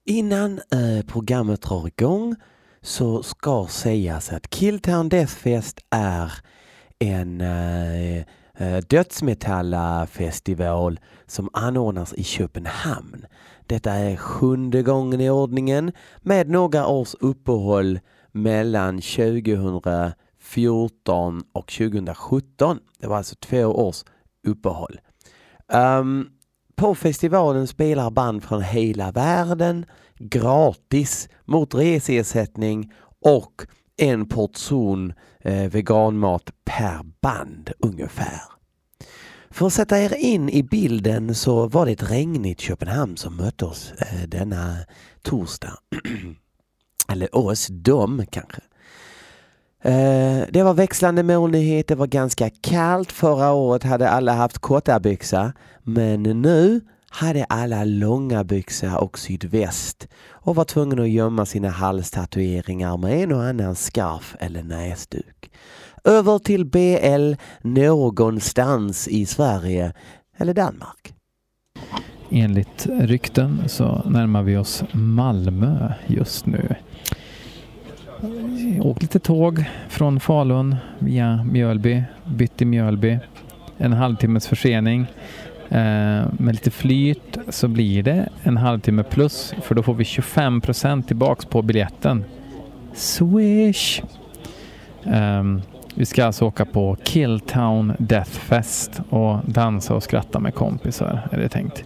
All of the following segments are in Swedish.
Innan programmet drar igång så ska sägas att Killtown Deathfest är en dödsmetallafestival som anordnas i Köpenhamn. Detta är 7:e gången i ordningen med några års uppehåll mellan 2014 och 2017. Det var alltså 2 års uppehåll. På festivalen spelar band från hela världen gratis mot reseersättning och en portion veganmat per band ungefär. För att sätta er in i bilden så var det ett regnigt Köpenhamn som mötte oss denna torsdag. Eller oss, dem kanske. Det var växlande molnighet, det var ganska kallt. Förra året hade alla haft korta byxor, men nu hade alla långa byxor och sydväst och var tvungna att gömma sina halstatueringar med en och annan skarf eller näsduk. Över till BL någonstans i Sverige eller Danmark. Enligt rykten så närmar vi oss Malmö just nu. Åk lite tåg från Falun via Mjölby, bytt i Mjölby. En halvtimmes försening. Med lite flyt så blir det en halvtimme plus, för då får vi 25% tillbaks på biljetten. Swish! Vi ska alltså åka på Killtown Deathfest och dansa och skratta med kompisar, är det tänkt.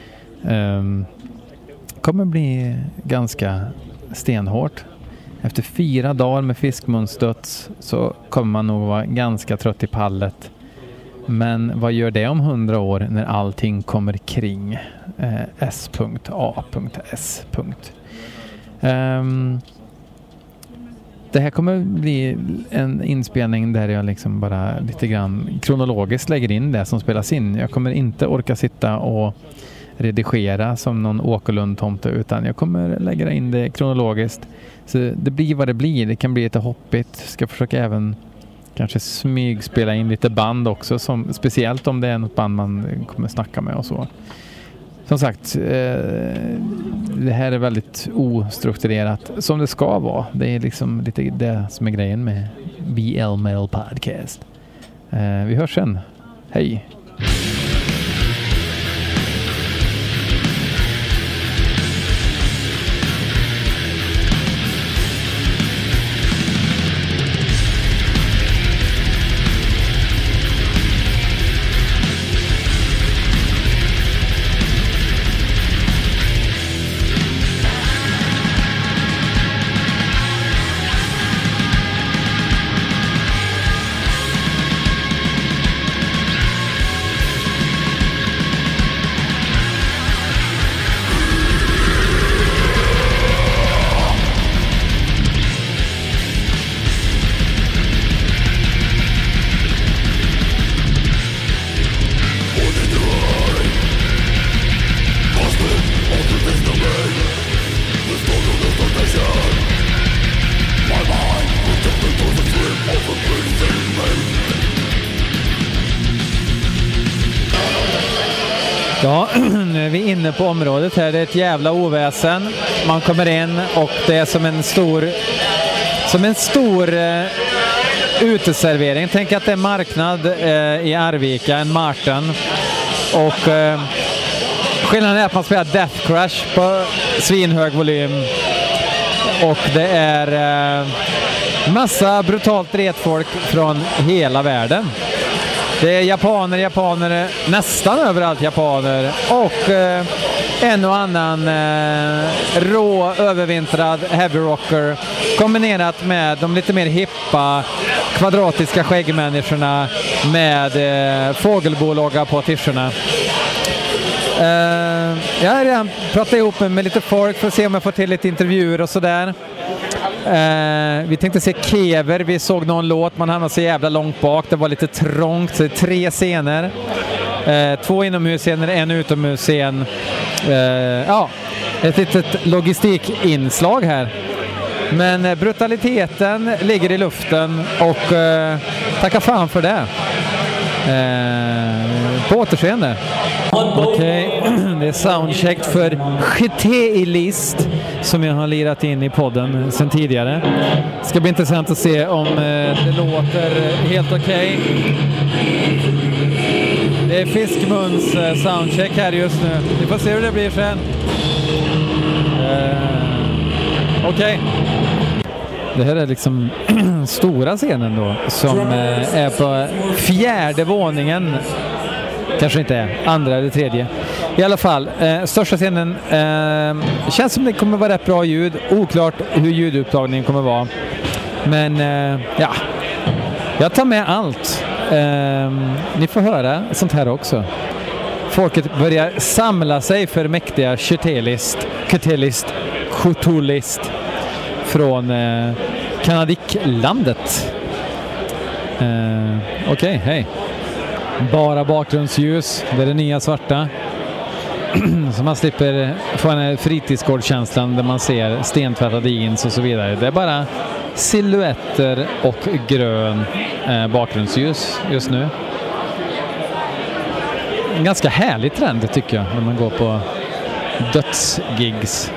Kommer bli ganska stenhårt. Efter 4 dagar med fiskmunsdöds så kommer man nog vara ganska trött i pallet. Men vad gör det om 100 år när allting kommer kring S.A.S. Det här kommer bli en inspelning där jag liksom bara lite grann kronologiskt lägger in det som spelas in. Jag kommer inte orka sitta och redigera som någon Åkerlund-tomte, utan jag kommer lägga in det kronologiskt. Så det blir vad det blir. Det kan bli lite hoppigt. Ska försöka även kanske smygspela in lite band också, som, speciellt om det är något band man kommer snacka med och så. Som sagt, det här är väldigt ostrukturerat som det ska vara. Det är liksom lite det som är grejen med BL Metal Podcast. Vi hörs sen. Hej! Ja, nu är vi inne på området här. Det är ett jävla oväsen. Man kommer in och det är som en stor uteservering. Tänk att det är marknad i Arvika, en Martin. Och skillnaden är att man spelar Death Crash på svinhög volym. Och det är massa brutalt retfolk från hela världen. Det är japaner, nästan överallt japaner, och en och annan rå, övervintrad heavy rocker kombinerat med de lite mer hippa, kvadratiska skäggmänniskorna med fågelbologga på t-shirtarna. Jag har redan pratat ihop med lite folk för att se om jag får till lite intervjuer och sådär. Vi tänkte se Kever, vi såg någon låt, man hamnade så jävla långt bak, det var lite trångt, så 3 scener, 2 inomhusscener, 1 utomhusscen. Ja, ett litet logistikinslag här, men brutaliteten ligger i luften och tacka fan för det. På återseende. Okej, det är soundcheck för GT-list som jag har lirat in i podden sedan tidigare. Det ska bli intressant att se om det låter helt okej. Det är Fiskmuns soundcheck här just nu. Vi får se hur det blir sen. Okej. Det här är liksom stora scenen då som är på 4:e våningen. Kanske inte är, 2:a eller 3:e. I alla fall, största scenen känns som det kommer vara rätt bra ljud. Oklart hur ljudupptagningen kommer vara. Men ja, jag tar med allt. Ni får höra sånt här också. Folket börjar samla sig för mäktiga Kytelist från Kanadiklandet. Okej, hej. Bara bakgrundsljus, det är det nya svarta. Så man slipper få en fritidsgårdskänslan där man ser stentvättade jeans och så vidare. Det är bara silhuetter och grön bakgrundsljus just nu. En ganska härlig trend tycker jag när man går på dödsgigs.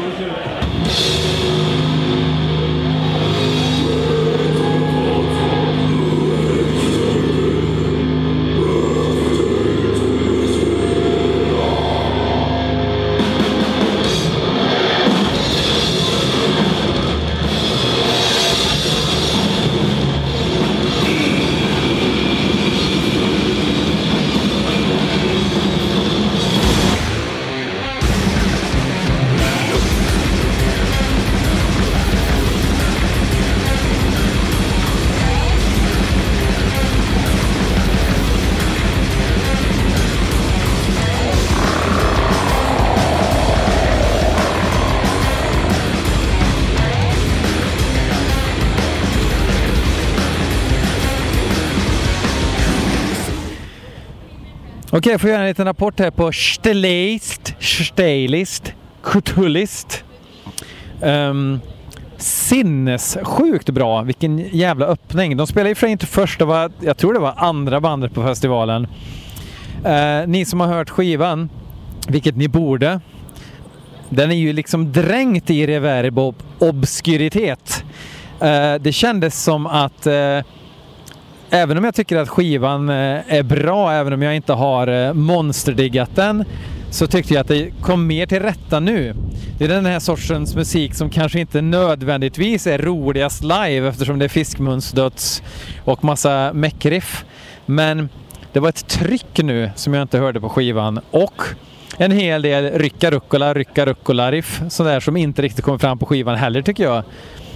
Okej, jag får göra en liten rapport här på Stylist, Kutulist. Sinnessjukt bra, vilken jävla öppning. De spelar ju för inte första, jag tror det var andra bandet på festivalen. Ni som har hört skivan, vilket ni borde, den är ju liksom dränkt i reverb och obskuritet. Det kändes som att även om jag tycker att skivan är bra, även om jag inte har monsterdiggat den, så tyckte jag att det kom mer till rätta nu. Det är den här sortens musik som kanske inte nödvändigtvis är roligast live eftersom det är Fiskmunsdöds och massa meckriff. Men det var ett tryck nu som jag inte hörde på skivan och en hel del rycka riff sådär som inte riktigt kommer fram på skivan heller tycker jag.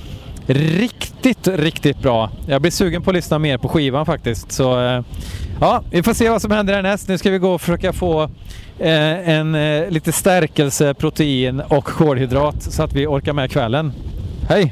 Riktigt bra. Jag blir sugen på att lyssna mer på skivan faktiskt. Så ja, vi får se vad som händer härnäst. Nu ska vi gå och försöka få lite stärkelse, protein och kolhydrat så att vi orkar med kvällen. Hej!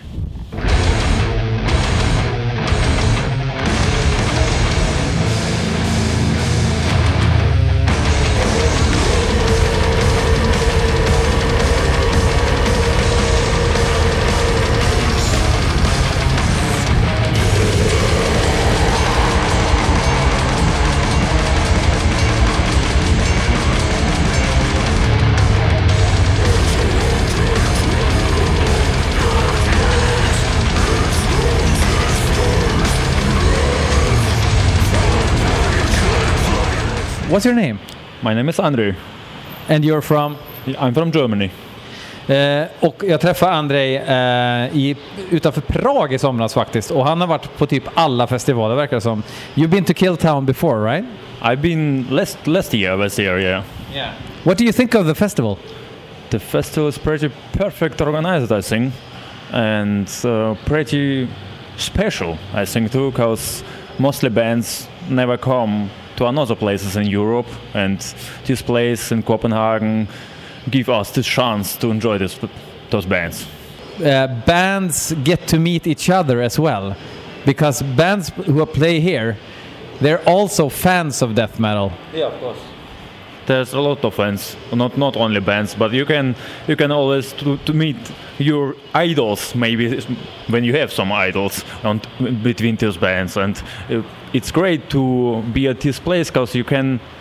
What's your name? My name is Andrew. And you're from? I'm from Germany. Och jag träffade Andrej utanför Prag i somras faktiskt. Och han har varit på typ alla festivaler verkar det som. You've been to Killtown before, right? I've been last year I was here, yeah. What do you think of the festival? The festival is pretty perfect organized, I think. And pretty special, I think too, because mostly bands never come to another places in Europe, and this place in Copenhagen give us the chance to enjoy those bands. Bands get to meet each other as well, because bands who play here, they're also fans of death metal. Yeah, of course. There's a lot of fans, not only bands, but you can always to meet your idols, maybe when you have some idols between these bands, and it's great to be at this place because you can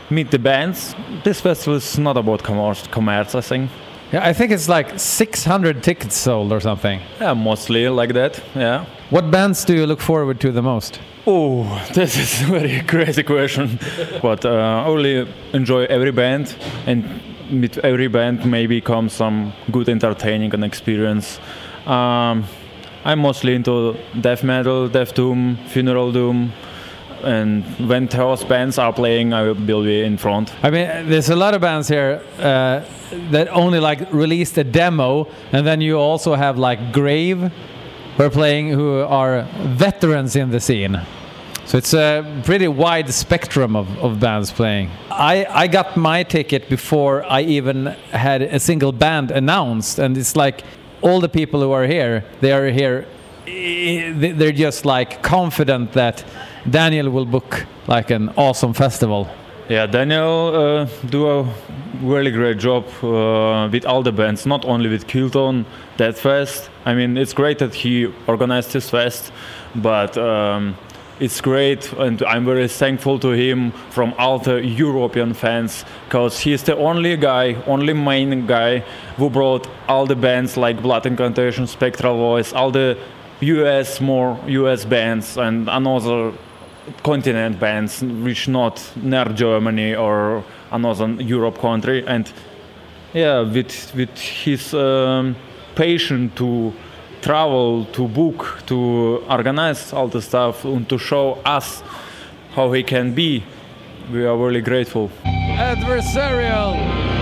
meet the bands. This festival is not about commerce, I think. Yeah, I think it's like 600 tickets sold or something. Yeah, mostly like that, yeah. What bands do you look forward to the most? Oh, this is a very crazy question. But I really enjoy every band, and with every band maybe comes some good entertaining and experience. I'm mostly into death metal, death doom, funeral doom, and when those bands are playing, I will be in front. I mean, there's a lot of bands here that only like released a demo, and then you also have like Grave, who are veterans in the scene. So it's a pretty wide spectrum of bands playing. I got my ticket before I even had a single band announced, and it's like all the people who are here, they're just like confident that Daniel will book like an awesome festival. Yeah, Daniel do a really great job with all the bands, not only with Kilton, Deathfest. I mean, it's great that he organized this fest, but it's great, and I'm very thankful to him from all the European fans, because he's the only main guy who brought all the bands like Blood Incantation, Spectral Voice, all the US bands and another continent bands which not near Germany or another Europe country. And yeah, with his passion to travel, to book, to organize all the stuff, and to show us how he can be, we are really grateful. Adversarial!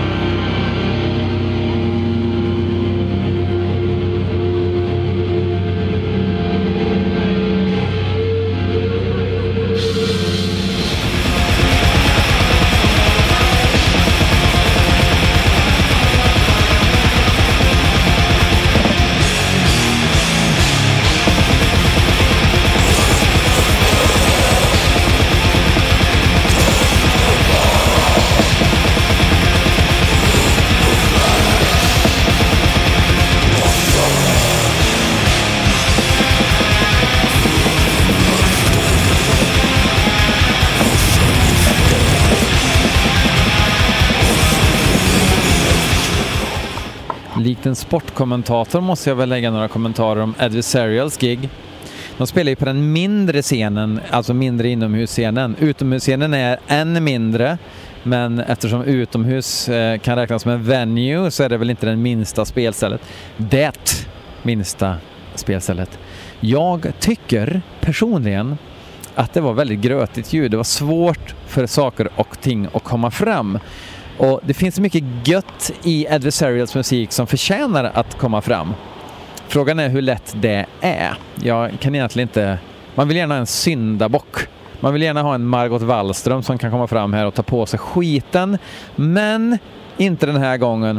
Likt en sportkommentator måste jag väl lägga några kommentarer om Adversarials gig. De spelar ju på den mindre scenen, alltså mindre inomhusscenen. Utomhusscenen är än mindre, men eftersom utomhus kan räknas som en venue så är det väl inte den minsta spelstället. Det minsta spelstället. Jag tycker personligen att det var väldigt grötigt ljud. Det var svårt för saker och ting att komma fram. Och det finns mycket gött i Adversarials musik som förtjänar att komma fram. Frågan är hur lätt det är. Jag kan egentligen inte... Man vill gärna ha en syndabock. Man vill gärna ha en Margot Wallström som kan komma fram här och ta på sig skiten. Men inte den här gången.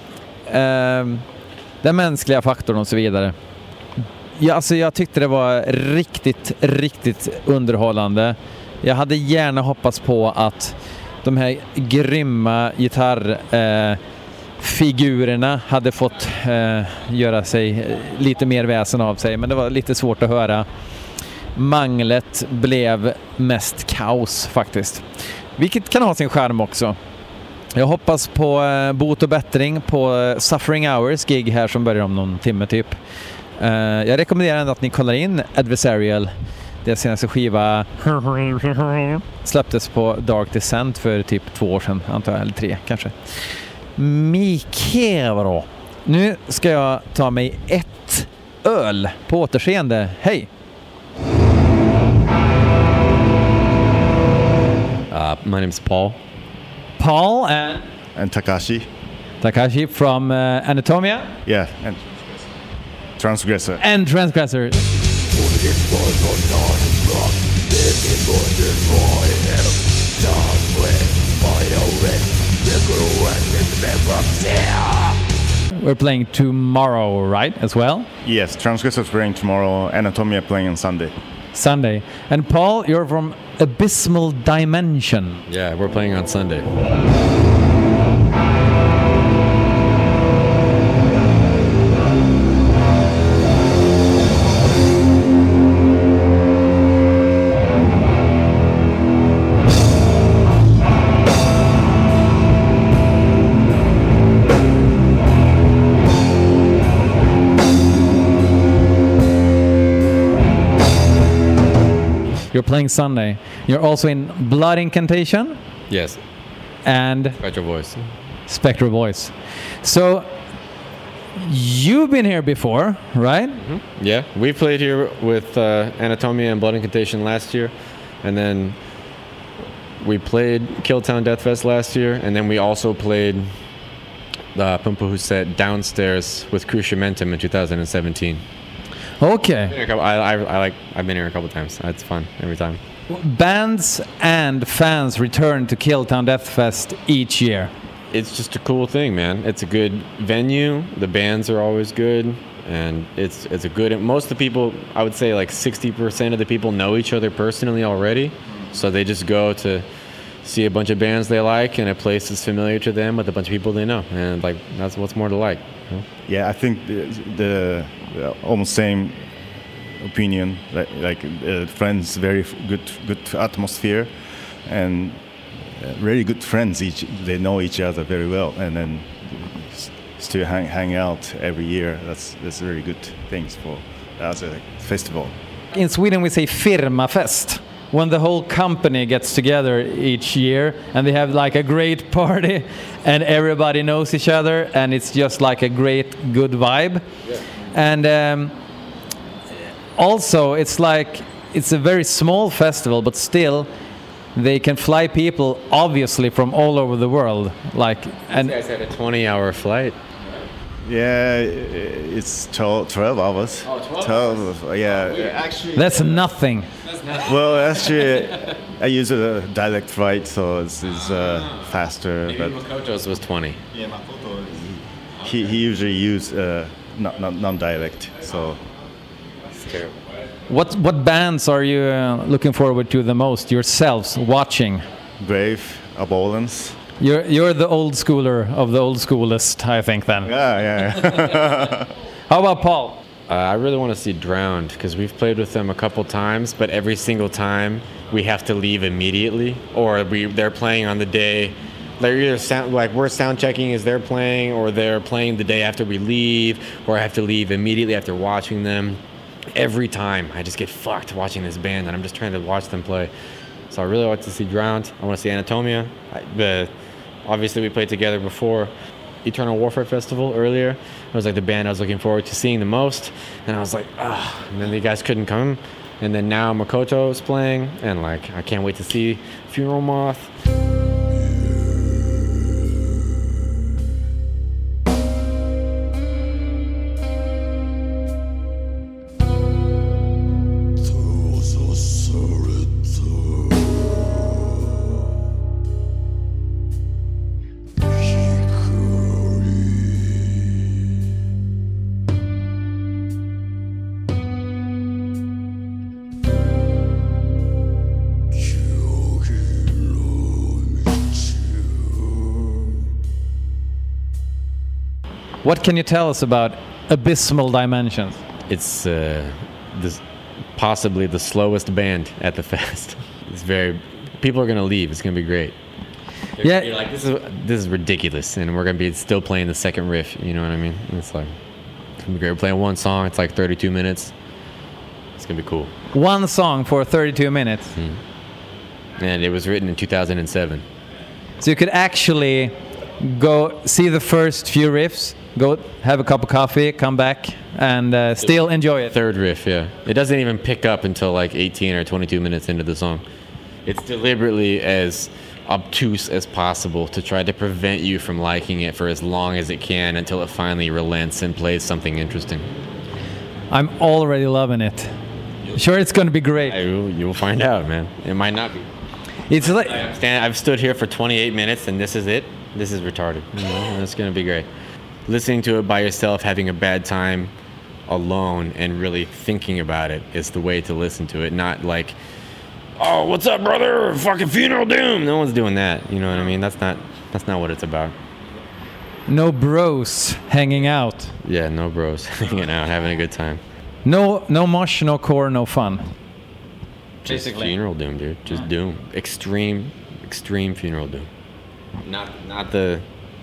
Den mänskliga faktorn och så vidare. Ja, alltså jag tyckte det var riktigt underhållande. Jag hade gärna hoppats på att de här grymma gitarrfigurerna hade fått göra sig lite mer väsen av sig, men det var lite svårt att höra. Manglet blev mest kaos faktiskt, vilket kan ha sin charm också. Jag hoppas på bot och bättring på Suffering Hours gig här som börjar om någon timme typ. Jag rekommenderar ändå att ni kollar in Adversarial. Deras senaste skiva släpptes på Dark Descent för typ 2 år sedan, antar jag, eller 3 kanske. Mycket bra. Nu ska jag ta mig ett öl. På återseende. Hej! My name's Paul. Paul and Takashi. Takashi from Anatomia. Yeah, and Transgressor. And Transgressor. We're playing tomorrow, right, as well? Yes, Transgressor's playing tomorrow, Anatomia playing on Sunday. Sunday. And Paul, you're from Abysmal Dimension. Yeah, we're playing on Sunday. You're playing Sunday. You're also in Blood Incantation Yes. and Spectral Voice. Spectral Voice. So you've been here before, right? Yeah, we played here with Anatomia and Blood Incantation last year, and then we played Killtown Deathfest last year, and then we also played Pumpa Huset downstairs with Cruciamentum in 2017. Okay. I've been here a couple times. It's fun every time. Bands and fans return to Killtown Deathfest each year. It's just a cool thing, man. It's a good venue. The bands are always good, and it's a good. Most of the people, I would say, like 60% of the people know each other personally already, so they just go to see a bunch of bands they like in a place that's familiar to them with a bunch of people they know, and like that's what's more to like. You know? Yeah, I think the almost same opinion. Friends, very good atmosphere, and really good friends. They know each other very well, and then still hang out every year. That's really good things for as a festival. In Sweden we say firmafest, when the whole company gets together each year and they have like a great party and everybody knows each other and it's just like a great good vibe. Yeah. And also it's a very small festival, but still they can fly people obviously from all over the world. And you guys had a 20-hour flight. Yeah, it's 12 hours. Oh, 12 hours. Yeah. Actually, that's nothing. Well, actually, I use a direct flight, so it's faster. Maybe Makoto's was 20. Yeah, Makoto. He usually use non-direct, so. It's terrible. What bands are you looking forward to the most yourselves watching? Brave, Abolance. You're the old schooler of the old schoolist, I think. Then. Yeah. How about Paul? I really want to see Drowned because we've played with them a couple times, but every single time we have to leave immediately, or they're playing on the day. They're either we're sound checking as they're playing, or they're playing the day after we leave, or I have to leave immediately after watching them. Every time I just get fucked watching this band, and I'm just trying to watch them play. So I really want to see Drowned. I want to see Anatomia. Obviously, we played together before Eternal Warfare Festival earlier. It was like the band I was looking forward to seeing the most. And I was like, ah. And then the guys couldn't come. And then now Makoto is playing. And like, I can't wait to see Funeral Moth. What can you tell us about Abysmal Dimensions? It's possibly the slowest band at the fest. People are gonna leave. It's gonna be great. You're like, this is ridiculous, and we're gonna be still playing the second riff. You know what I mean? It's like, it's gonna be great. We're playing one song. It's like 32 minutes. It's gonna be cool. One song for 32 minutes. And it was written in 2007. So you could actually go see the first few riffs, go have a cup of coffee, come back, and still enjoy it. Third riff, yeah. It doesn't even pick up until like 18 or 22 minutes into the song. It's deliberately as obtuse as possible to try to prevent you from liking it for as long as it can until it finally relents and plays something interesting. I'm already loving it. Sure, it's going to be great. You'll find out, man. It might not be. It's like I've stood here for 28 minutes and this is it. This is retarded. It's going to be great. Listening to it by yourself, having a bad time alone, and really thinking about it is the way to listen to it. Not like, oh, what's up, brother? Fucking Funeral Doom. No one's doing that. You know what I mean? That's not what it's about. No bros hanging out. Yeah, no bros hanging out, having a good time. No mosh, no core, no fun. Just Funeral Doom, dude. Just doom. Extreme Funeral Doom. Not the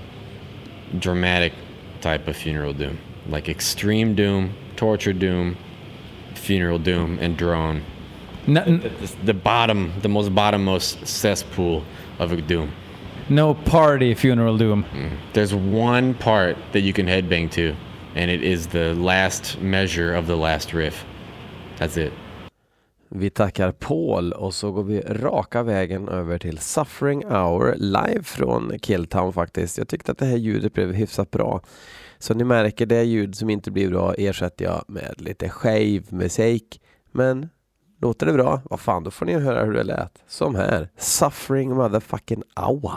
dramatic type of Funeral Doom. Like extreme doom, torture doom, Funeral Doom, and drone. the most bottommost cesspool of a doom. No party funeral doom. There's one part that you can headbang to, and it is the last measure of the last riff. That's it. Vi tackar Paul och så går vi raka vägen över till Suffering Hour live från Killtown faktiskt. Jag tyckte att det här ljudet blev hyfsat bra. Så ni märker, det ljud som inte blir bra ersätter jag med lite skev musik. Men låter det bra? Vad fan, då får ni höra hur det lät. Som här, Suffering motherfucking Hour.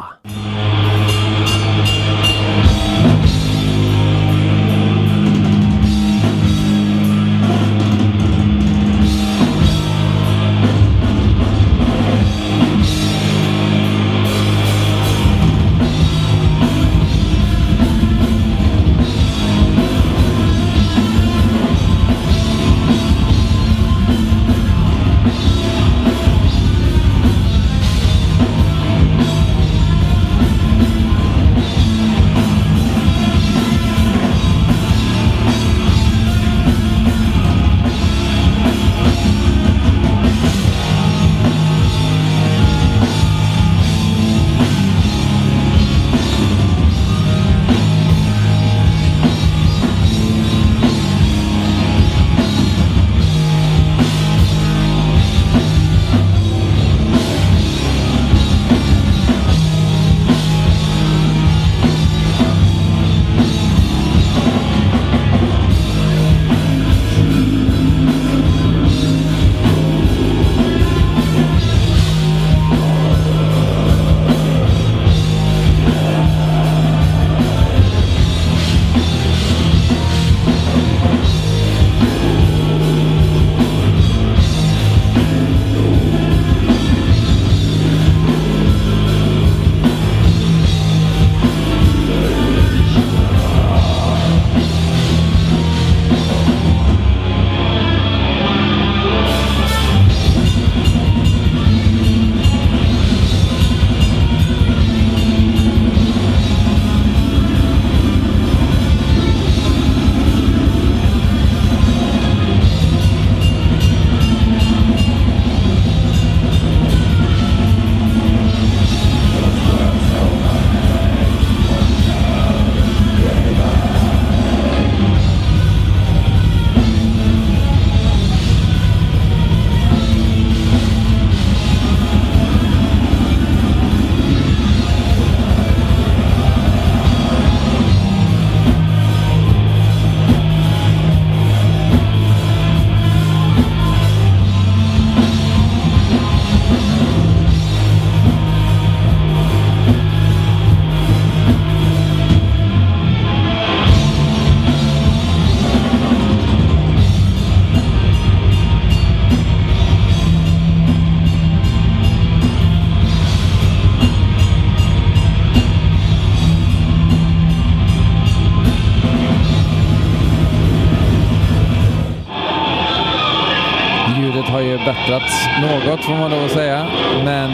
bättrats något får man lov att säga. Men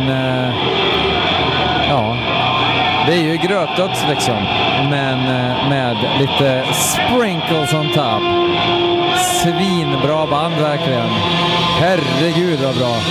ja, det är ju grötdöds liksom. Men med lite sprinkles on top. Svinbra band verkligen. Herregud vad bra.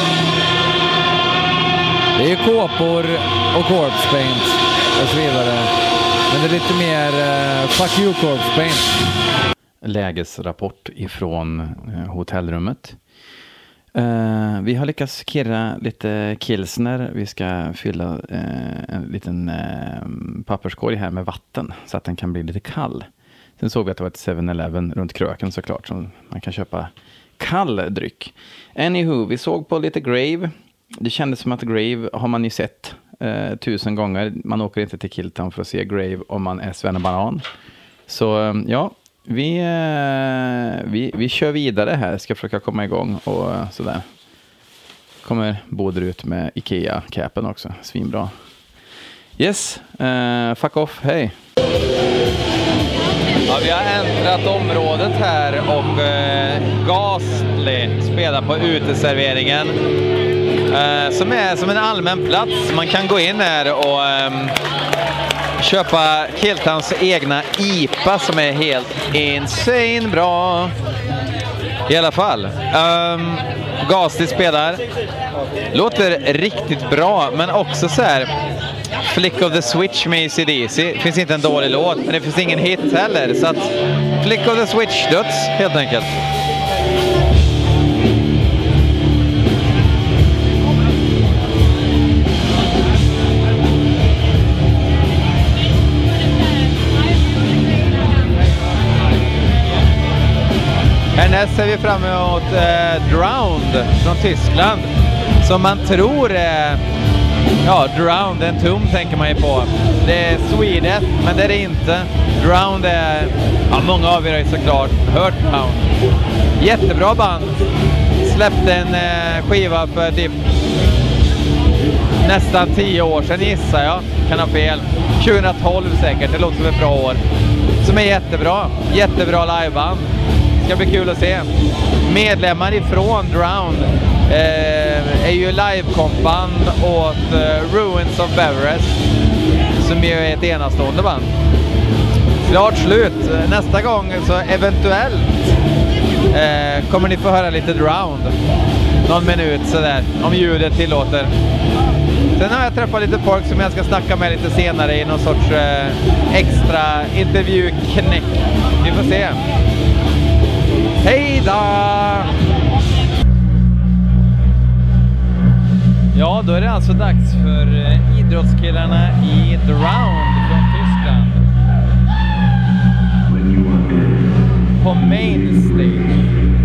Det är ju kåpor och corpse paint och så vidare. Men det är lite mer fuck you corpse paint. Lägesrapport ifrån hotellrummet. Vi har lyckats kirra lite kilsner. Vi ska fylla en liten papperskorg här med vatten så att den kan bli lite kall. Sen såg vi att det var ett 7-Eleven runt kröken såklart, så man kan köpa kall dryck. Anywho, vi såg på lite Grave. Det kändes som att Grave har man ju sett 1000 gånger. Man åker inte till Killtown för att se Grave om man är svennebanan. Så ja, vi kör vidare här. Ska försöka komma igång och sådär. Kommer Boder ut med Ikea-capen också. Svinbra. Yes, fuck off, hej. Ja, vi har äntrat området här och Gasly spelar på uteserveringen. Som är som en allmän plats. Man kan gå in här och köpa Killtowns egna IPA som är helt insane bra. I alla fall. Gasti spelar. Låter riktigt bra, men också så här Flick of the Switch med AC/DC. Det finns inte en dålig låt, men det finns ingen hit heller. Så att Flick of the Switch-döds helt enkelt. Härnäst ser vi fram emot Drowned från Tyskland. Som man tror är... Drowned, en tum tänker man ju på. Det är Sweden, men det är det inte. Drowned är... många av er har ju såklart hört Drowned. Jättebra band. Släppte en skiva för typ nästan 10 år sedan gissar jag. Kan ha fel. 2012 säkert, det låter som ett bra år. Som är jättebra. Jättebra liveband. Ska bli kul att se. Medlemmar ifrån Drowned är ju livekompband åt Ruins of Beverest, som ju är ett enastående band. Klart slut. Nästa gång så eventuellt kommer ni få höra lite Drowned. Någon minut sådär, om ljudet tillåter. Sen har jag träffat lite folk som jag ska snacka med lite senare i någon sorts extra intervjuknäck. Vi får se. Hej då! Ja, då är det alltså dags för idrottskillarna i Drowned från Tyskland. På main stage.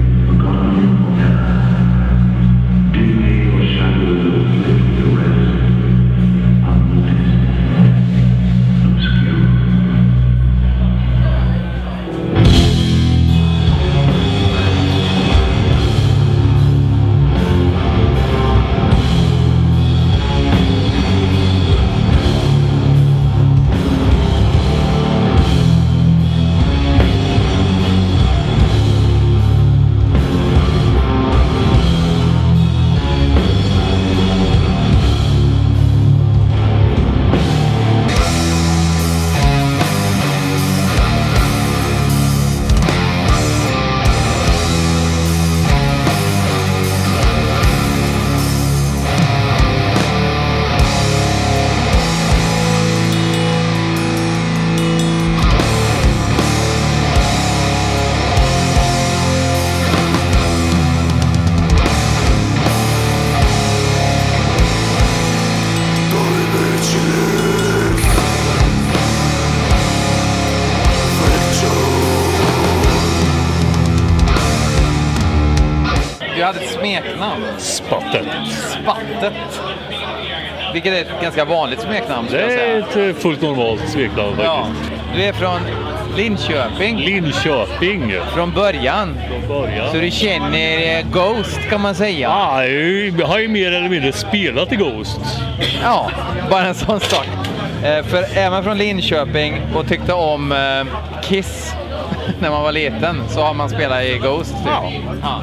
Du hade ett smeknamn. Spattet. Spattet. Vilket är ett ganska vanligt smeknamn. Det är ett fullt normalt smeknamn faktiskt. Ja. Du är från Linköping. Linköping. Från början. Så du känner Ghost kan man säga. Ja, jag har ju mer eller mindre spelat i Ghost. Ja, bara en sån sak. För är man från Linköping och tyckte om Kiss när man var liten så har man spelat i Ghost. Typ. Ja.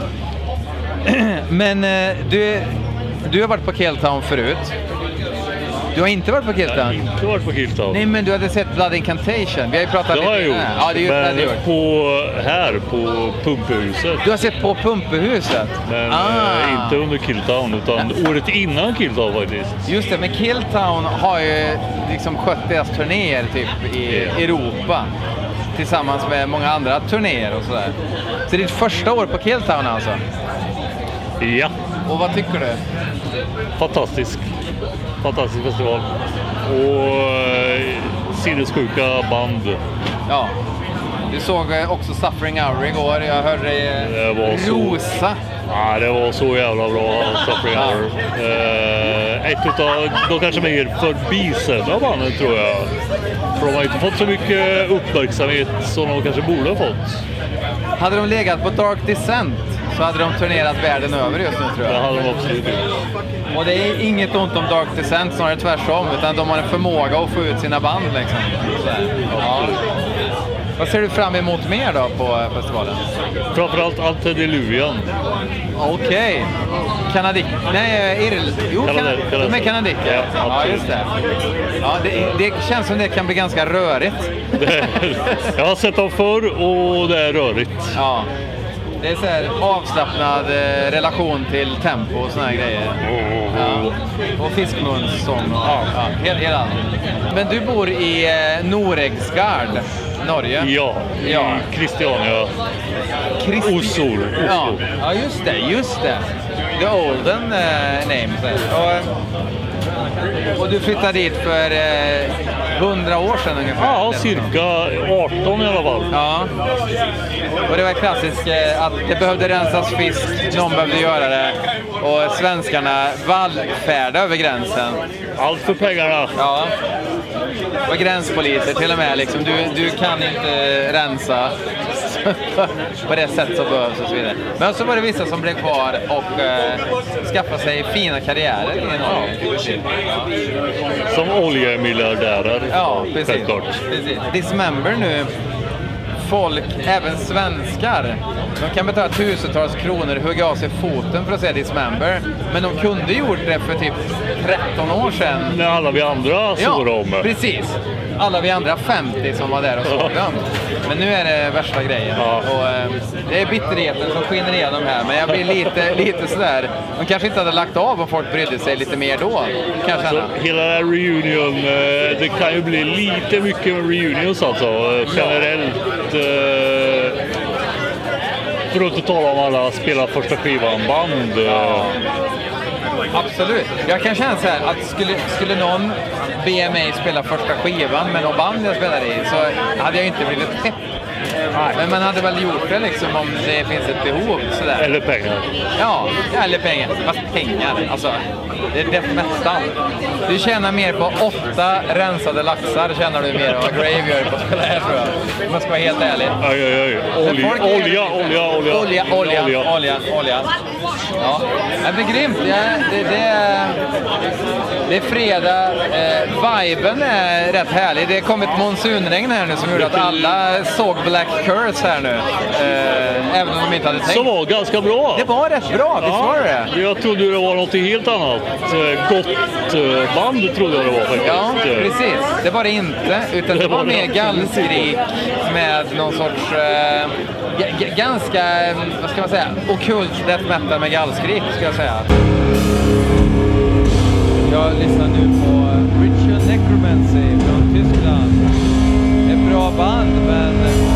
Men du har varit på Killtown förut. Du har inte varit på Killtown? Jag har inte varit på Killtown. Nej, men du hade sett Blood Incantation. Vi har ju pratat lite. Gjort. Ja, det har du gjort. På Pumpehuset. Du har sett på Pumpehuset? Men inte under Killtown, utan året innan Killtown faktiskt. Just det, men Killtown har ju liksom skött deras turnéer typ i Europa. Tillsammans med många andra turnéer och sådär. Så det är ditt första år på Killtown alltså? Ja. Och vad tycker du? Fantastisk festival. Och sinnessjuka band. Ja. Du såg också Suffering Hour igår. Jag hörde dig rosa. Ja, det var så jävla bra Suffering Hour. Ett utav de kanske mer förbisedda banden tror jag. För de har inte fått så mycket uppmärksamhet som de kanske borde ha fått. Hade de legat på Dark Descent så hade de turnerat världen över just nu tror jag. Det hade de absolut gjort. Och det är inget ont om Dark Descent, snarare tvärtom, utan de har en förmåga att få ut sina band liksom. Ja. Vad ser du fram emot mer då på festivalen? Framförallt Antediluvian. Okej. Kanadik. Nej, Jo, de är kanadiker. Ja, just det. Ja, det känns som det kan bli ganska rörigt. Jag har sett dem förr och det är rörigt. Ja. Det är så här avslappnad relation till tempo och såna här grejer. Ja. Och fiskmunssång. Ja, hela. Men du bor i Noregsgard, Norge? Ja, i Christiania. Oslo. Ja, just det. The olden name. Och du flyttade dit för 100 år sedan ungefär? Ja, cirka 18 i alla fall. Ja. Och det var klassiskt att det behövde rensas fisk, någon behövde göra det. Och svenskarna vallfärdade över gränsen. Allt för pengarna. Ja. Och gränspoliser till och med. Liksom, du kan inte rensa på det sätt som behövs och så vidare. Men så var det vissa som blev kvar och skaffade sig fina karriärer i Norge. Som oljemiljardärer. Ja, precis. Dismember nu. Folk, även svenskar, de kan betala tusentals kronor och hugga av sig foten för att se Dismember. Men de kunde gjort det för typ 13 år sedan. När alla vi andra såg dem. Precis. Alla vi andra 50 som var där och såg dem. Men nu är det värsta grejen. Ja. Och, det är bitterheten som skiner igenom här. Men jag blir lite sådär. De kanske inte hade lagt av om folk brydde sig lite mer då. Kanske alltså, hela den här reunion, det kan ju bli lite mycket med reunions alltså. Generellt. För att inte tala om alla spelar första skivan band. Absolut. Jag kan känna så här att skulle någon be mig spela första skivan med någon band jag spelar i så hade jag inte blivit pepp. Men man hade väl gjort det liksom om det finns ett behov sådär. Eller pengar. Ja, eller pengar. Fast pengar, alltså. Det är death metal. Du tjänar mer på 8 rensade laxar tjänar du mer än vad Grave gör på att spela här, tror jag. Om man ska vara helt ärlig. Olja. Ja, det är grymt. Det är fredag. Viben är rätt härlig. Det kom ett monsunregn här nu som gjorde att alla såg Black Curse här nu. Även om de inte hade tänkt. Som var ganska bra. Det var rätt bra, visst var det? Jag trodde det var något helt annat. Gott band trodde jag det var faktiskt. Ja, precis. Det var det inte. Utan det var mer gallskrik med någon sorts ganska, vad ska man säga, ockult death metal med gallskrik, ska jag säga. Jag lyssnar nu på Ritual Necromancy från Tyskland. Ett bra band, men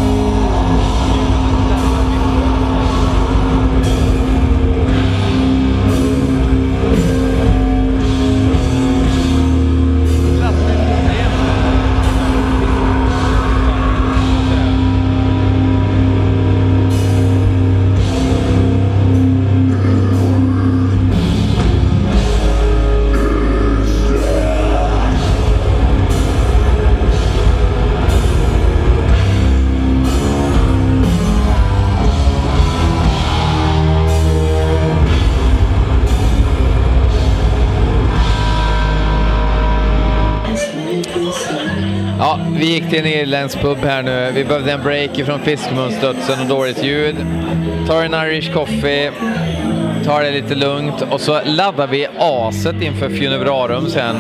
vi gick till en irländsk pub här nu. Vi behövde en break från fiskmunstudsen och dåligt ljud. Tar en Irish coffee, tar det lite lugnt och så laddar vi aset inför Funebrarum sen.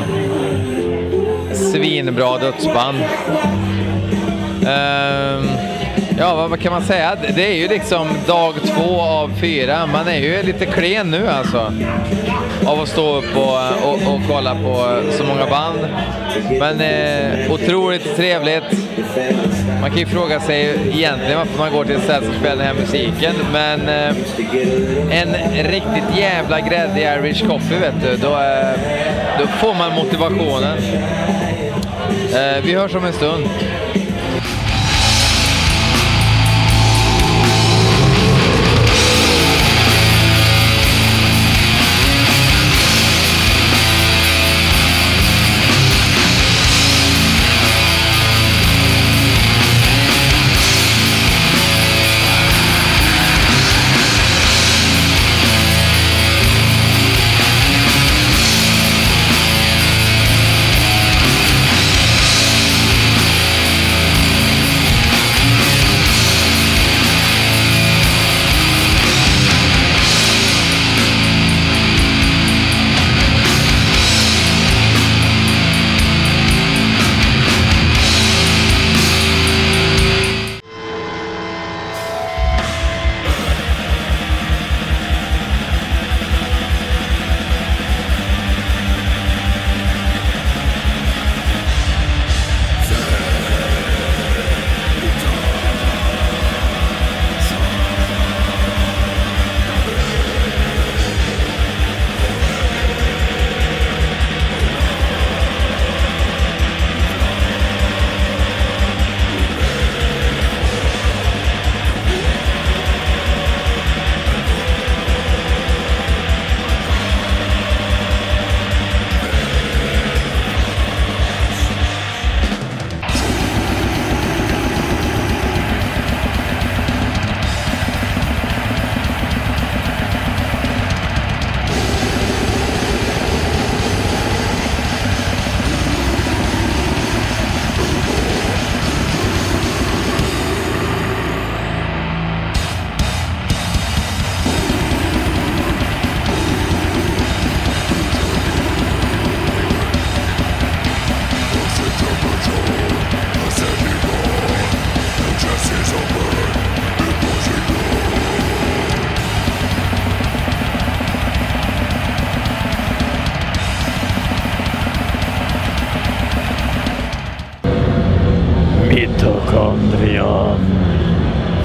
Svinbra dödsband. Ja, vad kan man säga? Det är ju liksom dag 2 av 4. Man är ju lite klen nu alltså. Av att stå upp och kolla på så många band. Men otroligt trevligt. Man kan ju fråga sig egentligen varför man går till ett ställe som spelar den här musiken. Men en riktigt jävla gräddig Irish coffee, vet du. Då får man motivationen. Vi hörs om en stund.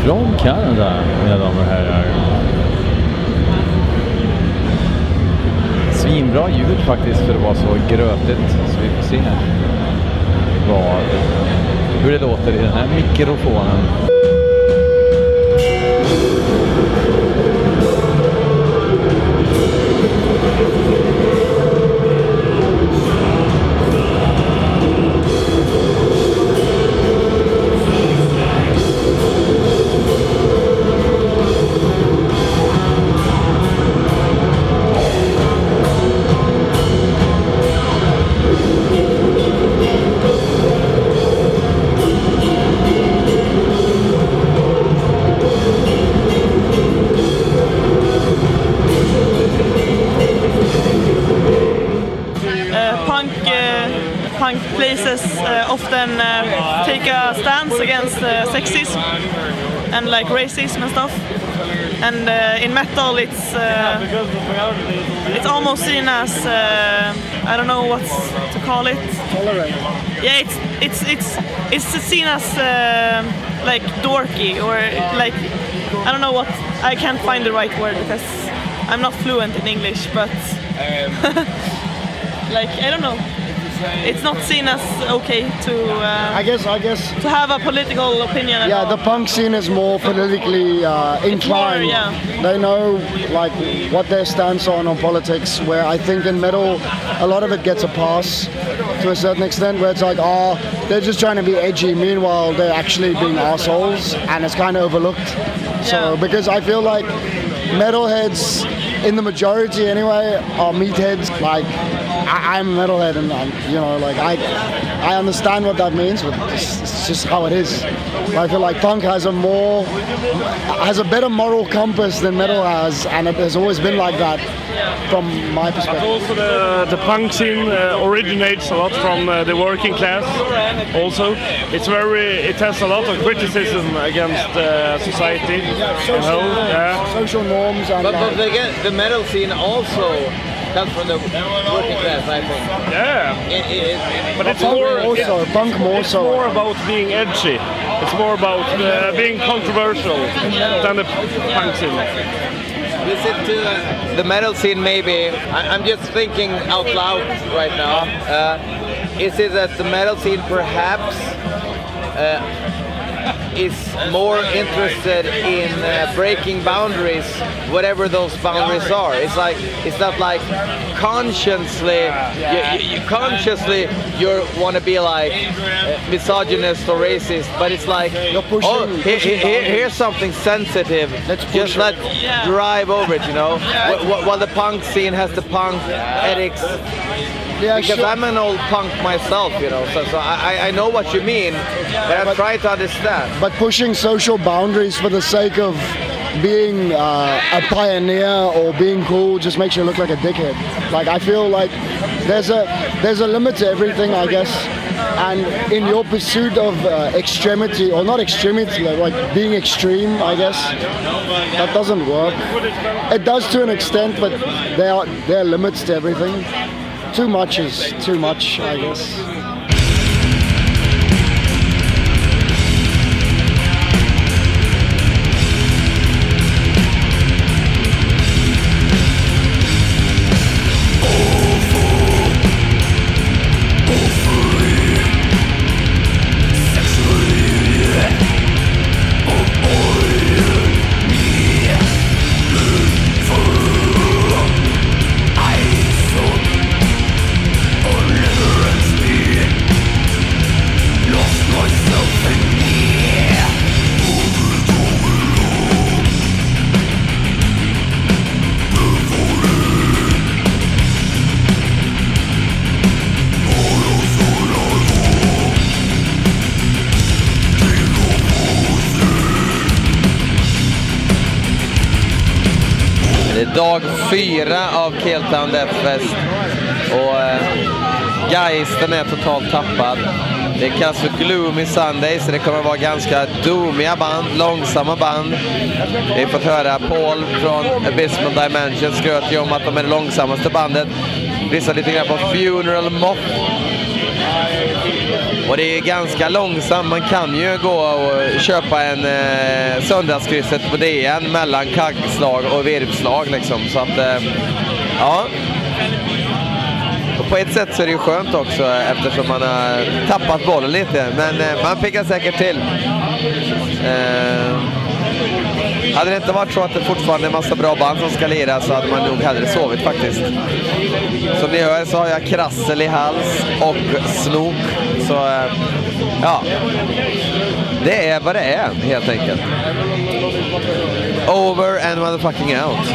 From Canada, mina damer och herrar. Svinbra ljud faktiskt för att vara så grötigt. Så vi får se hur det låter i den här mikrofonen. Punk places often take a stance against sexism and like racism and stuff. And in metal, it's almost seen as I don't know what to call it. Tolerant. Yeah, it's seen as like dorky or like I don't know what. I can't find the right word because I'm not fluent in English, but like I don't know. It's not seen as okay to. I guess to have a political opinion. Yeah, the punk scene is more politically inclined. More, yeah. They know like what their stance on politics. Where I think in metal, a lot of it gets a pass to a certain extent. Where it's like, they're just trying to be edgy. Meanwhile, they're actually being assholes, and it's kind of overlooked. So because I feel like metalheads, in the majority anyway, are meatheads. Like I'm a metalhead, and I understand what that means, but it's just how it is. I feel like punk has a better moral compass than metal has, and it has always been like that from my perspective. Also, the punk scene originates a lot from the working class. Also, it has a lot of criticism against society. Social norms, and but the metal scene also comes from the working class, I think. Yeah, but it's punk more so. It's more about being edgy. It's more about being controversial than the punk scene. Listen to the metal scene, maybe. I'm just thinking out loud right now. Is it that the metal scene perhaps is more interested in breaking boundaries, whatever those boundaries are? It's not like consciously you want to be like misogynist or racist, but it's like here's something sensitive. Just let drive over it, While the punk scene has the punk ethics. Yeah, because I'm an old punk myself, so I know what you mean, but I'm trying to understand. But pushing social boundaries for the sake of being a pioneer or being cool just makes you look like a dickhead. Like I feel like there's a limit to everything, I guess. And in your pursuit of extremity, or not extremity, like being extreme, I guess, that doesn't work. It does to an extent, but there are limits to everything. Too much is too much, I guess. Dag 4 av Keltown Death Fest och geisten är totalt tappad. Det kallas för Gloomy Sunday, så det kommer vara ganska doomiga band, långsamma band. Vi har fått höra Paul från Abysmal Dimension skröt ju om att de är det långsammaste bandet. Lyssna lite grann på Funeral Moth. Och det är ganska långsamt. Man kan ju gå och köpa en söndagskrysset på DN mellan kaggslag och virvslag liksom. Så att, ja. Och på ett sätt så är det ju skönt också eftersom man har tappat bollen lite. Men man pickar säkert till. Hade det inte varit så att det fortfarande är en massa bra band som ska lira så hade man nog hellre sovit faktiskt. Som ni hör så har jag krassel i hals och snok. Så ja, det är vad det är helt enkelt. Over and motherfucking out.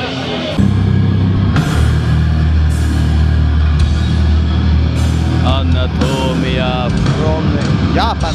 Anatomia från Japan.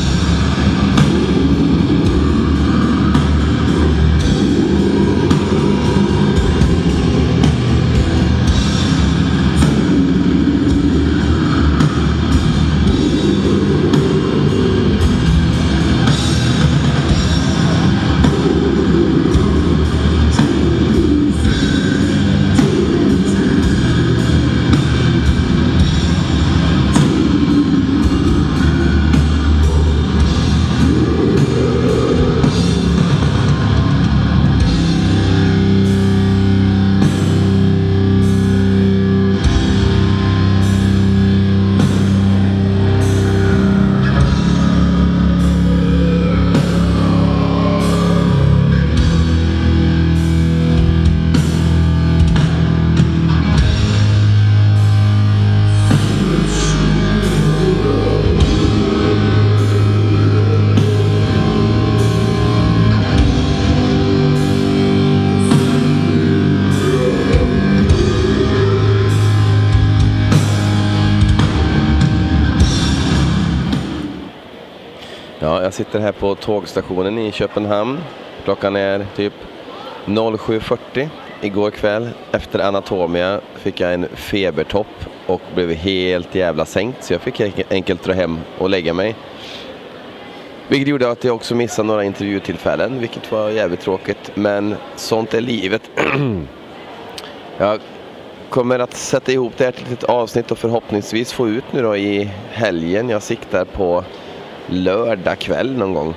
Jag sitter här på tågstationen i Köpenhamn. Klockan är typ 07:40. Igår kväll efter Anatomia fick jag en febertopp och blev helt jävla sänkt. Så jag fick enkelt dra hem och lägga mig. Vilket gjorde att jag också missade några intervjutillfällen. Vilket var jävligt tråkigt. Men sånt är livet. Jag kommer att sätta ihop det här till ett avsnitt och förhoppningsvis få ut nu då i helgen. Jag siktar på lördag kväll någon gång.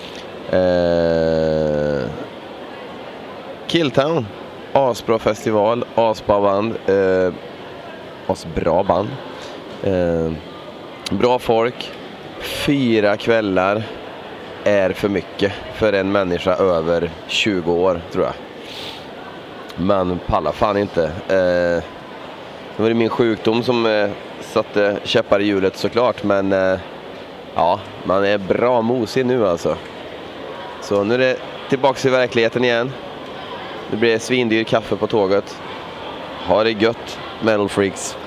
Killtown, asbra festival, asbra band, asbra band, bra folk. 4 kvällar är för mycket för en människa över 20 år tror jag. Man pallar fan inte. Det var min sjukdom som satte käppar i hjulet såklart, men ja, man är bra mosig nu alltså. Så nu är det tillbaka i verkligheten igen. Det blir svindyr kaffe på tåget. Ha det gött, Metal Freaks.